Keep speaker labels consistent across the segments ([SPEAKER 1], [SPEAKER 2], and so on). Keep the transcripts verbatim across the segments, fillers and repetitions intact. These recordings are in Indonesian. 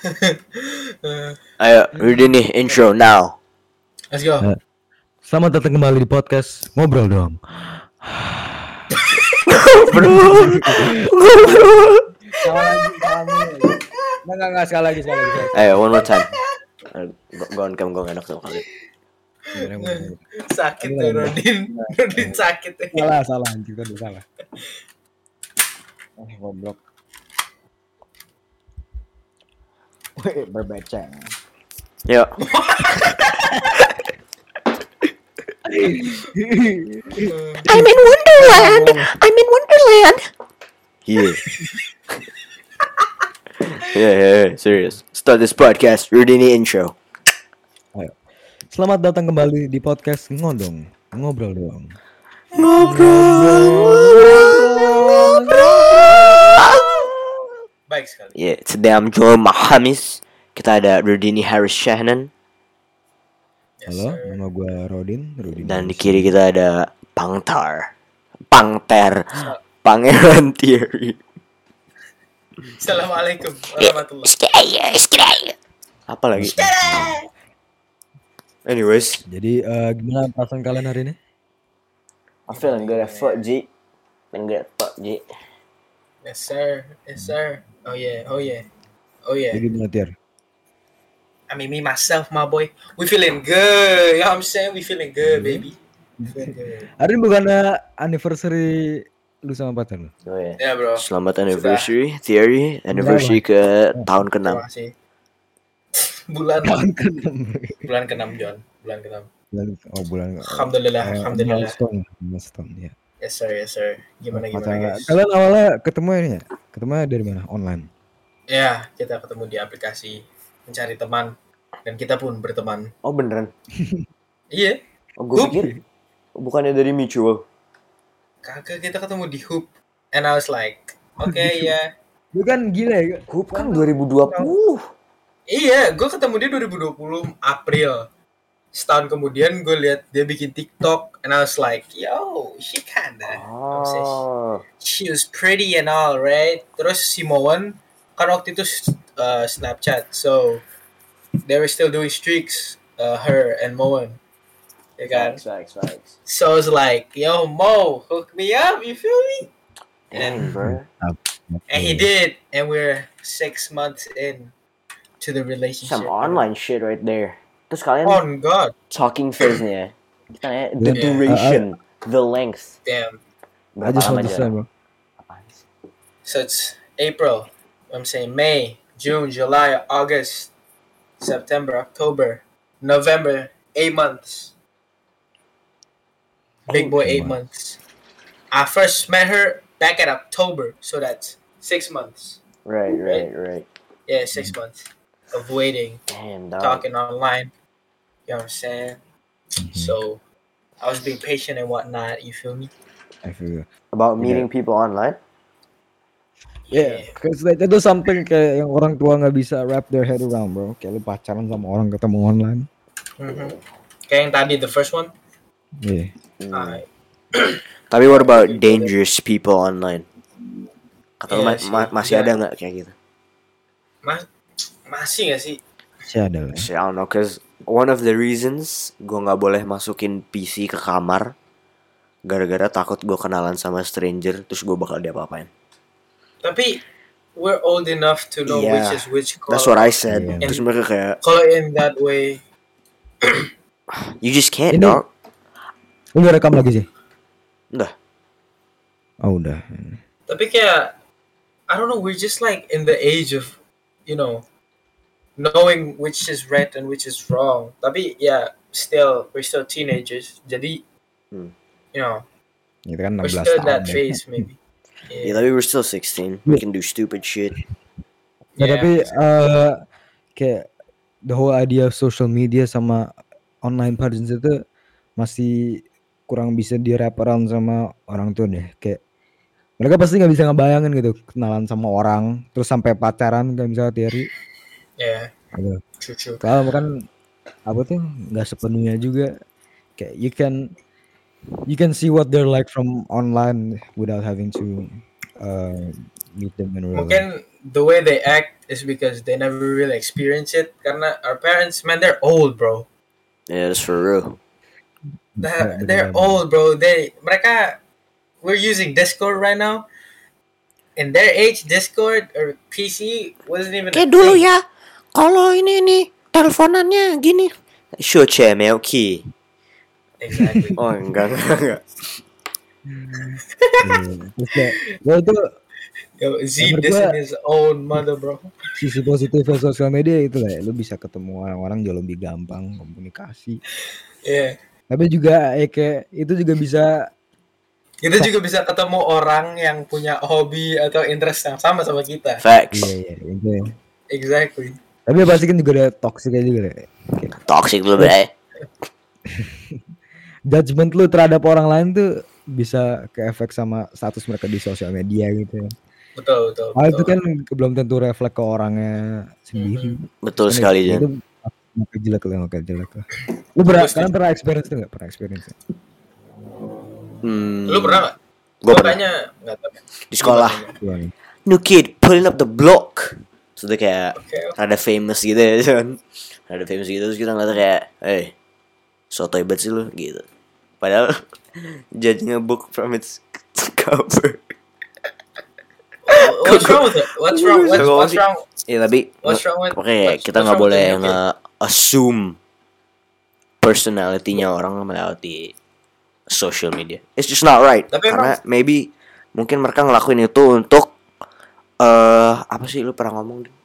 [SPEAKER 1] Ayo, ready nih intro now.
[SPEAKER 2] Let's go.
[SPEAKER 3] Uh, Selamat datang kembali di podcast Ngobrol Dong.
[SPEAKER 1] Bro.
[SPEAKER 3] Salah lagi, salah mulu. Enggak, enggak, enggak, sekali lagi, sekali lagi.
[SPEAKER 1] Ayo, one more time. Gue on cam, gue gak enak sama kali.
[SPEAKER 2] Sakit tuh Rodin. Rodin sakit tuh.
[SPEAKER 3] Salah, salah, anjing tadi salah. Eh, goblok. Wih, berbaca.
[SPEAKER 1] Yuk.
[SPEAKER 4] I'm in Wonderland. I'm in Wonderland.
[SPEAKER 1] Yeah. yeah, yeah, yeah, serious. Start this podcast, ready nih intro.
[SPEAKER 3] Ayo. Selamat datang kembali di podcast Ngodong. Ngobrol Dong.
[SPEAKER 2] Baik sekali.
[SPEAKER 1] Yeah, today I'm joined by Hamis. Kita ada Rudini Harris Shahnan.
[SPEAKER 2] Yes,
[SPEAKER 3] Halo,
[SPEAKER 2] sir.
[SPEAKER 3] nama gue Rodin, Rodin.
[SPEAKER 1] Dan di kiri kita ada Pangtar. Pangter. Pangeran Thierry.
[SPEAKER 2] Assalamualaikum warahmatullahi.
[SPEAKER 4] Skaya, skaya.
[SPEAKER 1] Apa lagi? Anyways,
[SPEAKER 3] Jadi eh, gimana perasaan kalian hari ini?
[SPEAKER 1] I'm feeling good as fuck, G. Feeling good as fuck, G.
[SPEAKER 2] Yes sir. Yes sir. Oh yeah. Oh yeah. Oh yeah.
[SPEAKER 3] Jadi gimana Tiar?
[SPEAKER 2] I mean me myself, my boy. We feeling good. You know what I'm saying? We feeling good, baby. We feeling good.
[SPEAKER 3] Hari ini bukannya anniversary lu sama pacar lu?
[SPEAKER 1] Oh ya.
[SPEAKER 2] Ya bro.
[SPEAKER 1] Selamat anniversary, Thierry. Anniversary ke tahun keenam.
[SPEAKER 2] Terima kasih. Bulan
[SPEAKER 3] Tahun keenam.
[SPEAKER 2] bulan keenam John. Bulan keenam.
[SPEAKER 3] Bulan- Oh bulan.
[SPEAKER 2] Alhamdulillah.
[SPEAKER 3] eh,
[SPEAKER 2] Alhamdulillah.
[SPEAKER 3] Milestone, milestone ya.
[SPEAKER 2] Yes sir. Yes sir. Gimana gimana
[SPEAKER 3] Pacar-
[SPEAKER 2] guys?
[SPEAKER 3] Kalian awalnya ketemu ini ya? Ketemu dari mana? Online.
[SPEAKER 2] Ya kita ketemu di aplikasi mencari teman dan kita pun berteman.
[SPEAKER 1] Oh beneran?
[SPEAKER 2] Iya.
[SPEAKER 1] Oh gue pikir bukannya dari mutual.
[SPEAKER 2] Kagak, kita ketemu di Hoop and I was like, oke okay, ya.
[SPEAKER 3] Lu kan gila ya.
[SPEAKER 1] Hoop kan dua ribu dua puluh.
[SPEAKER 2] Iya, gue ketemu dia dua ribu dua puluh April. Setahun kemudian gue lihat dia bikin TikTok and I was like, yo, she kinda, obsessed.
[SPEAKER 1] Oh.
[SPEAKER 2] She was pretty and all, right? Terus si Moen kan waktu itu uh, Snapchat, so they were still doing streaks, uh, her and Moen, ya kan?
[SPEAKER 1] Facts, facts, facts.
[SPEAKER 2] So I was like, yo, Mo, hook me up, you feel me?
[SPEAKER 1] Damn, bro.
[SPEAKER 2] And he did, and we're six months in to the relationship.
[SPEAKER 1] Some online shit right there. Terus kalian
[SPEAKER 2] Oh God,
[SPEAKER 1] talking phase-nya. Kita nanya the
[SPEAKER 3] Yeah.
[SPEAKER 1] duration, the length.
[SPEAKER 2] damn.
[SPEAKER 3] I
[SPEAKER 1] Berapa
[SPEAKER 3] just
[SPEAKER 1] lama
[SPEAKER 3] want to say,
[SPEAKER 1] jarak?
[SPEAKER 3] bro.
[SPEAKER 1] Apaan sih?
[SPEAKER 2] So it's April. I'm saying May, June, July, August, September, October, November. Eight months. Big boy, eight months. I first met her back at October, so that's six months.
[SPEAKER 1] Right, right, right.
[SPEAKER 2] Yeah, six months of waiting,
[SPEAKER 1] Damn, dog.
[SPEAKER 2] talking online. You know what I'm saying?
[SPEAKER 3] Mm-hmm.
[SPEAKER 2] So I was being patient and whatnot. You feel me?
[SPEAKER 3] I feel.
[SPEAKER 1] About meeting people online?
[SPEAKER 3] Yeah, because like, itu something kayak yang orang tua nggak bisa wrap their head around, bro. Kayak lu pacaran sama orang ketemu online.
[SPEAKER 2] Mm-hmm. Kayak yang tadi, the first one.
[SPEAKER 3] Iya.
[SPEAKER 1] Hmm.
[SPEAKER 2] Alright.
[SPEAKER 1] Tapi what about dangerous people online? Kata lu
[SPEAKER 2] Iya
[SPEAKER 1] ma-
[SPEAKER 2] sih.
[SPEAKER 1] ma- masih
[SPEAKER 2] Iya.
[SPEAKER 1] ada nggak kayak gitu?
[SPEAKER 2] Mas, masih gak sih?
[SPEAKER 3] Masih ada lah.
[SPEAKER 1] I don't know, cause one of the reasons gue nggak boleh masukin P C ke kamar gara-gara takut gue kenalan sama stranger terus gue bakal diapa-apain.
[SPEAKER 2] Tapi we're old enough to know
[SPEAKER 1] Yeah,
[SPEAKER 2] which is which.
[SPEAKER 1] That's what I said.
[SPEAKER 3] Yeah.
[SPEAKER 1] Terus mereka kayak,
[SPEAKER 2] Kalau in that way,
[SPEAKER 1] you just can't,
[SPEAKER 3] Ini-
[SPEAKER 1] dog.
[SPEAKER 3] Lu udah rekam lagi sih?
[SPEAKER 1] Udah.
[SPEAKER 3] Oh udah.
[SPEAKER 2] tapi kayak I don't know, we're just like in the age of, you know, knowing which is right and which is wrong. Tapi yeah, still we're still teenagers. Jadi,
[SPEAKER 1] Hmm.
[SPEAKER 2] you know,
[SPEAKER 3] Itu kan enam
[SPEAKER 2] we're
[SPEAKER 3] belas
[SPEAKER 2] still in
[SPEAKER 3] tahun.
[SPEAKER 2] that
[SPEAKER 3] deh.
[SPEAKER 2] phase maybe.
[SPEAKER 1] Yeah,
[SPEAKER 2] Yeah.
[SPEAKER 1] tapi we're still sixteen. We can do stupid shit.
[SPEAKER 3] Ya,
[SPEAKER 2] Yeah.
[SPEAKER 3] tapi eh, kayak the whole idea of social media sama online presence itu masih kurang bisa di wrap around sama orang tua deh. Kayak mereka pasti nggak bisa ngebayangin gitu kenalan sama orang terus sampai pacaran kayak misalnya Thierry.
[SPEAKER 2] Yeah,
[SPEAKER 3] Gitu.
[SPEAKER 2] true true.
[SPEAKER 3] Kalau kan apa tuh nggak sepenuhnya juga kayak you can you can see what they're like from online without having to uh, meet them in real life.
[SPEAKER 2] Mungkin the way they act is because they never really experience it. Karena our parents, man, they're old, bro.
[SPEAKER 1] Yeah, that's for real.
[SPEAKER 2] They're, they're old, bro. They mereka we're using Discord right now. In their age, Discord or P C wasn't even.
[SPEAKER 4] Kayak dulu ya. Kalau ini nih teleponannya gini.
[SPEAKER 1] Sure, chair, Melky.
[SPEAKER 2] Exactly.
[SPEAKER 1] Oh, enggak, enggak, enggak.
[SPEAKER 3] Terus kayak, gue itu
[SPEAKER 2] Yo, Z
[SPEAKER 3] Menurut
[SPEAKER 2] dissing
[SPEAKER 3] gua-
[SPEAKER 2] his own mother, bro.
[SPEAKER 3] sisi positifnya sosial media itu lah, lu bisa ketemu orang-orang jauh lebih gampang komunikasi.
[SPEAKER 2] Yeah.
[SPEAKER 3] Tapi juga ya kayak itu juga bisa
[SPEAKER 2] Kita juga bisa ketemu orang yang punya hobi atau interest yang sama sama kita.
[SPEAKER 1] Facts.
[SPEAKER 3] iya iya itu. Ya.
[SPEAKER 2] Exactly.
[SPEAKER 3] Tapi ya pasti kan juga ada toksiknya juga deh. Kayak
[SPEAKER 1] Toxic lu, bro.
[SPEAKER 3] judgement lu terhadap orang lain tuh bisa ke efek sama status mereka di sosial media gitu.
[SPEAKER 2] Betul, betul.
[SPEAKER 3] Ah itu
[SPEAKER 2] betul.
[SPEAKER 3] kan belum tentu reflek ke orangnya sendiri.
[SPEAKER 1] Betul
[SPEAKER 3] Kan
[SPEAKER 1] sekali,
[SPEAKER 3] itu,
[SPEAKER 1] Jan.
[SPEAKER 3] itu makin jelek lah, makin jelek lah. Lu pernah,
[SPEAKER 2] Setuju.
[SPEAKER 3] kalian pernah experience itu nggak? Pernah experience? nggak?
[SPEAKER 1] Hmm,
[SPEAKER 2] Lu pernah nggak?
[SPEAKER 1] Gua
[SPEAKER 2] Gua
[SPEAKER 1] pernah.
[SPEAKER 2] kayaknya nggak tahu.
[SPEAKER 1] Di sekolah.
[SPEAKER 3] Gimana?
[SPEAKER 1] New kid pulling up the block. Terus dia kayak
[SPEAKER 2] Oke.
[SPEAKER 1] rada famous gitu ya, kan. Rada famous gitu terus kita ngeliat kayak, "Hey, sotoy banget sih lu," gitu. Padahal judging a book from its cover.
[SPEAKER 2] What's wrong with it? What's wrong? What's, what's wrong?
[SPEAKER 1] Ya tapi
[SPEAKER 2] What's wrong with?
[SPEAKER 1] oke,
[SPEAKER 2] what's-
[SPEAKER 1] kita
[SPEAKER 2] what's
[SPEAKER 1] nggak
[SPEAKER 2] wrong with
[SPEAKER 1] boleh
[SPEAKER 2] the new kid?
[SPEAKER 1] nge-assume personality-nya orang melewati social media. It's just not right.
[SPEAKER 2] Tapi
[SPEAKER 1] Karena maybe mungkin mereka ngelakuin itu untuk eh apa sih lu pernah ngomong? Din?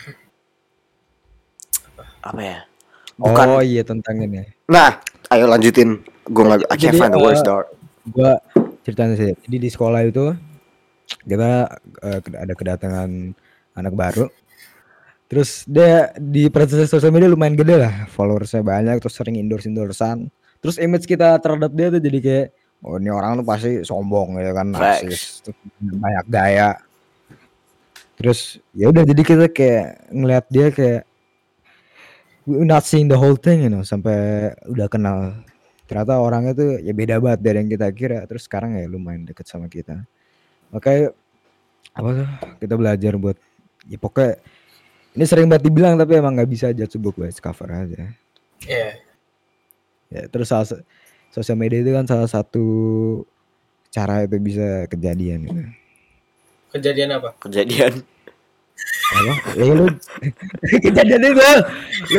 [SPEAKER 1] Apa ya? Bukan.
[SPEAKER 3] Oh iya tentang ini.
[SPEAKER 1] Nah, ayo lanjutin. Gue nggak, I can't
[SPEAKER 3] Jadi,
[SPEAKER 1] find the words,
[SPEAKER 3] eh,
[SPEAKER 1] dog.
[SPEAKER 3] Gua ceritain sih. Jadi di sekolah itu kita eh, ked- ada kedatangan anak baru. Terus dia di presence sosial media lumayan gede lah, followersnya banyak, terus sering endorse endorsean. Terus image kita terhadap dia tuh jadi kayak, oh ini orang tuh pasti sombong ya kan,
[SPEAKER 1] Facts.
[SPEAKER 3] narsis, terus banyak gaya. Terus ya udah jadi kita kayak ngeliat dia kayak we not seeing the whole thing, you know, sampai udah kenal. Ternyata orangnya tuh ya beda banget dari yang kita kira. Terus sekarang ya lumayan deket sama kita. Makanya apa tuh kita belajar buat ya pokoknya ini sering banget dibilang tapi emang nggak bisa judge book by its cover aja.
[SPEAKER 2] Yeah.
[SPEAKER 3] Ya terus salah, sa- sosial media itu kan salah satu cara itu bisa kejadian gitu.
[SPEAKER 2] Kejadian apa?
[SPEAKER 1] Kejadian.
[SPEAKER 3] Apa? Ya lu kejadian itu lu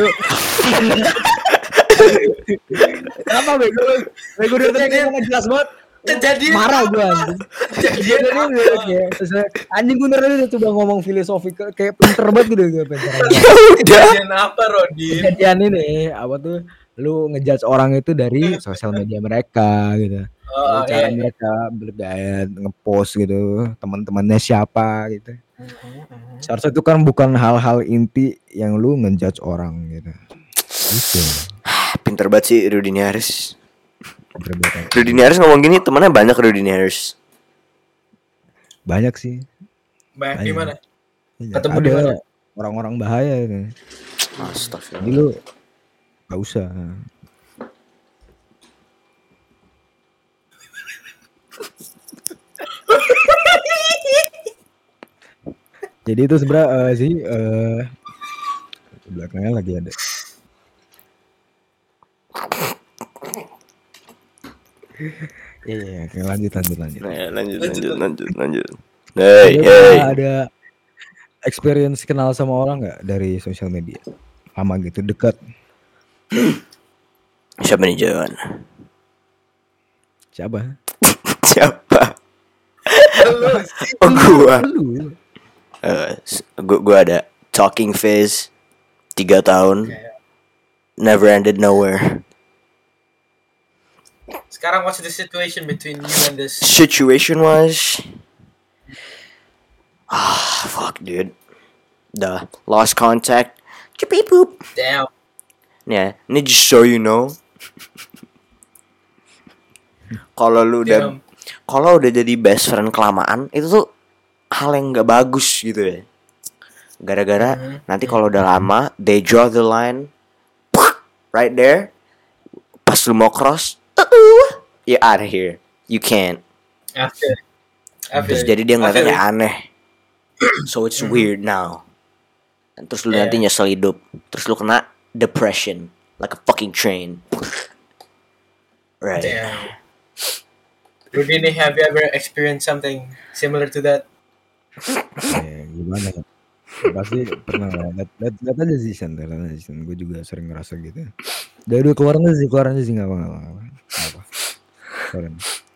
[SPEAKER 3] apa bego lu? Bego dia tadi ngomong jelas banget.
[SPEAKER 2] Kejadian
[SPEAKER 3] Marah
[SPEAKER 2] apa?
[SPEAKER 3] gua anjing.
[SPEAKER 2] Kejadian
[SPEAKER 3] Jadi
[SPEAKER 2] apa?
[SPEAKER 3] dia kayak terus, anjing gue bener udah coba ngomong filosofi ke- kayak pinter banget gitu gue pinter.
[SPEAKER 2] Kejadian apa, Rodin?
[SPEAKER 3] Kejadian ini apa tuh lu ngejudge orang itu dari sosial media mereka gitu.
[SPEAKER 2] Oh,
[SPEAKER 3] Dari cara
[SPEAKER 2] iya.
[SPEAKER 3] mereka bergaya ngepost gitu, teman-temannya siapa gitu. Seharusnya itu kan bukan hal-hal inti yang lu ngejudge orang gitu. Gitu.
[SPEAKER 1] Pinter banget sih Rudin Harris.
[SPEAKER 3] Pinter banget.
[SPEAKER 1] Rudin Harris ngomong gini, temannya banyak Rudin Harris.
[SPEAKER 3] Banyak sih.
[SPEAKER 2] Banyak di mana?
[SPEAKER 3] Iya,
[SPEAKER 2] Ketemu
[SPEAKER 3] ada
[SPEAKER 2] di mana?
[SPEAKER 3] orang-orang bahaya gitu.
[SPEAKER 1] Astagfirullah.
[SPEAKER 3] Jadi lu gak usah. Jadi itu sebenarnya eh, sih eh belakangnya lagi ada. Iya, iya, oke, lanjut lanjut lanjut.
[SPEAKER 1] Nah, lanjut,
[SPEAKER 2] Lanjut,
[SPEAKER 1] lanjut, lanjut, lanjut.
[SPEAKER 3] Ada,
[SPEAKER 1] Hey, hey.
[SPEAKER 3] ada experience kenal sama orang nggak dari sosial media? Lama gitu, dekat.
[SPEAKER 1] Siapa nih Jawan?
[SPEAKER 3] Siapa?
[SPEAKER 1] Siapa?
[SPEAKER 2] Lu
[SPEAKER 1] Oh gua.
[SPEAKER 3] Lu.
[SPEAKER 1] Eh, s- gua, gua ada talking phase tiga tahun. Never ended nowhere.
[SPEAKER 2] sekarang what's the situation between you and this?
[SPEAKER 1] Situation was, ah fuck dude, the lost contact. Beep boop.
[SPEAKER 2] Damn.
[SPEAKER 1] Yeah, ini just so you know. Kalau lu udah,
[SPEAKER 2] Damn.
[SPEAKER 1] kalau udah jadi best friend kelamaan, itu tuh hal yang nggak bagus gitu ya. Gara-gara
[SPEAKER 2] Mhm.
[SPEAKER 1] nanti kalau udah lama, they draw the line right there. Pas lu mau cross, uh, you're out of here. You can't.
[SPEAKER 2] After. After.
[SPEAKER 1] Terus jadi dia ngeliatnya kayak aneh. So it's weird now. Dan terus lu
[SPEAKER 2] Yeah.
[SPEAKER 1] nanti nyesel hidup. Terus lu kena depression. Like a fucking train. Right.
[SPEAKER 2] Damn. Rudini, have you ever experienced something similar to that?
[SPEAKER 3] Ya, gimana ya? Pasti pernah lah. Lihat, lihat, lihat aja sih Sen, lihat aja sih. Gue juga sering ngerasa gitu. Dari dulu keluar aja sih, keluar aja sih nggak apa nggak apa. Nggak apa. Keluarin.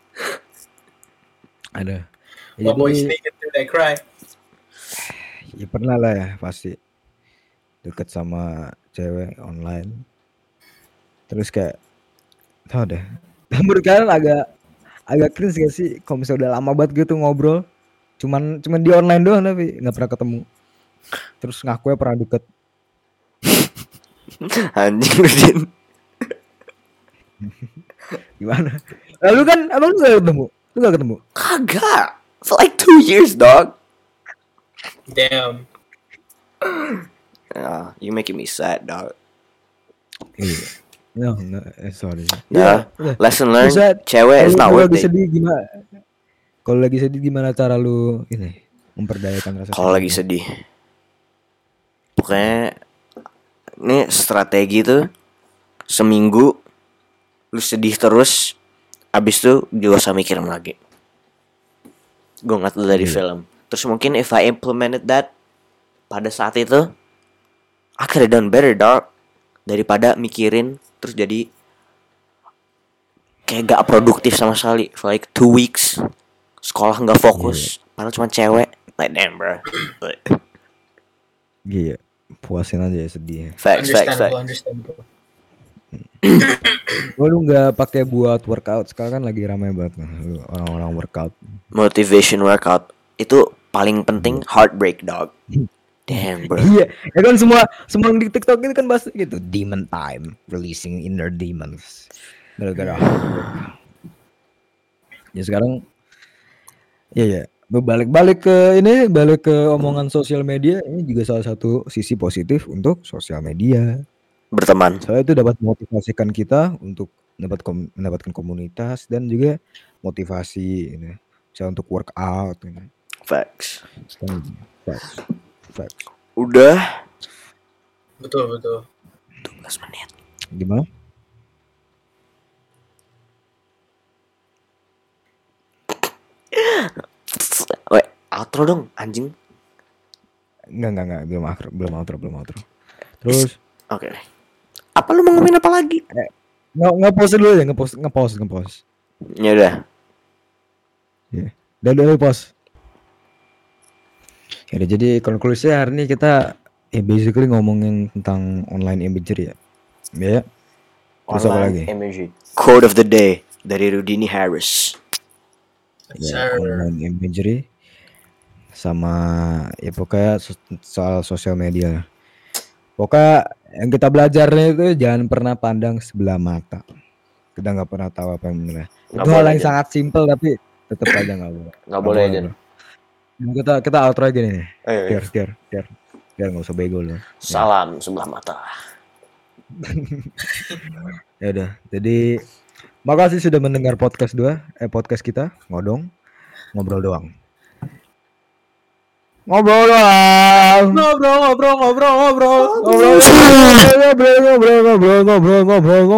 [SPEAKER 3] Ada. Ya,
[SPEAKER 2] What boy
[SPEAKER 3] jadi,
[SPEAKER 2] sneaking through that cry?
[SPEAKER 3] ya pernah lah ya pasti deket sama cewek online. Terus kayak tau deh. Menurut kalian agak agak cringe gak sih kalau misalnya udah lama banget gitu ngobrol, cuman cuman di online doang tapi nggak pernah ketemu. Terus ngakunya pernah deket.
[SPEAKER 1] Anjing lu Din.
[SPEAKER 3] Gimana? Lalu kan abang lu gak ketemu? Lu gak ketemu?
[SPEAKER 1] Kagak. For like two years, dog.
[SPEAKER 2] Damn.
[SPEAKER 1] Ah, you making me sad, dog.
[SPEAKER 3] Iya. No, no, eh, sorry.
[SPEAKER 1] Nah,
[SPEAKER 3] Iya,
[SPEAKER 1] lesson learned,
[SPEAKER 3] Bisa-
[SPEAKER 1] cewek is
[SPEAKER 3] Kalau
[SPEAKER 1] not
[SPEAKER 3] lu
[SPEAKER 1] worth
[SPEAKER 3] lagi
[SPEAKER 1] it.
[SPEAKER 3] sedih gimana? Kalau lagi sedih gimana cara lu ini memperdayakan rasa
[SPEAKER 1] Kalau lagi sedih, pokoknya ini strategi tuh seminggu lu sedih terus, abis itu gak usah mikirin lagi. Gue nggak tahu dari
[SPEAKER 3] Iya.
[SPEAKER 1] film. Terus mungkin if I implemented that pada saat itu, I could have done better, dog. Daripada mikirin terus jadi kayak gak produktif sama sekali for like two weeks. Sekolah nggak fokus, padahal cuma cewek. Like damn, bro.
[SPEAKER 3] Iya, puasin aja ya sedihnya.
[SPEAKER 1] Facts, facts,
[SPEAKER 2] Understandable,
[SPEAKER 1] facts.
[SPEAKER 2] understandable.
[SPEAKER 3] Oh, lu nggak pakai buat workout? Sekarang kan lagi ramai banget kan, lu orang-orang workout.
[SPEAKER 1] Motivation workout itu paling penting heartbreak, dog. Damn, bro.
[SPEAKER 3] Iya, ya kan semua semua yang di TikTok itu kan bahas gitu, demon time, releasing inner demons. Gara-gara hard work. Ya sekarang, ya ya, balik-balik ke ini, balik ke omongan sosial media, ini juga salah satu sisi positif untuk sosial media.
[SPEAKER 1] Berteman.
[SPEAKER 3] Soalnya itu dapat motivasikan kita untuk dapat kom- mendapatkan komunitas dan juga motivasi ini, misalnya untuk workout ini.
[SPEAKER 1] Facts.
[SPEAKER 3] Sekarang, facts, facts.
[SPEAKER 1] Udah
[SPEAKER 2] Betul, betul.
[SPEAKER 1] dua belas menit.
[SPEAKER 3] Gimana?
[SPEAKER 1] Weh, outro dong, anjing.
[SPEAKER 3] Enggak, enggak, enggak, belum outro, belum outro, belum outro. Terus
[SPEAKER 1] Oke. Apa lu mau ngomongin apa lagi?
[SPEAKER 3] nge nge-post dulu ya, nge-post, nge-post, nge-post.
[SPEAKER 1] Ya udah.
[SPEAKER 3] Dan dulu post. Ya udah, jadi konklusinya hari ini kita ya basically ngomongin tentang online imagery ya. Ya. Terus apa lagi?
[SPEAKER 1] Imagery. Quote of the day dari Rudini Harris.
[SPEAKER 3] Ya,
[SPEAKER 2] Sir.
[SPEAKER 3] online imagery sama ya pokoknya so- soal sosial media lah. Pokoknya yang kita belajarnya itu jangan pernah pandang sebelah mata. Kita nggak pernah tahu apa yang benar.
[SPEAKER 1] Nggak
[SPEAKER 3] Itu hal
[SPEAKER 1] boleh,
[SPEAKER 3] yang
[SPEAKER 1] Jan.
[SPEAKER 3] sangat simpel tapi tetap aja nggak boleh.
[SPEAKER 1] Nggak boleh, Jan.
[SPEAKER 3] bro. Nah, kita kita outro gini nih.
[SPEAKER 1] Ayo, ayo.
[SPEAKER 3] Biar biar biar biar nggak usah bego lu.
[SPEAKER 1] Salam sebelah mata.
[SPEAKER 3] Ya udah. Jadi makasih sudah mendengar podcast dua eh podcast kita ngodong ngobrol doang. Ngobrol doang.
[SPEAKER 2] Ngobrol, ngobrol, ngobrol, ngobrol.
[SPEAKER 3] Ngobrol, ngobrol, ngobrol, ngobrol, ngobrol, ngobrol, ngobrol.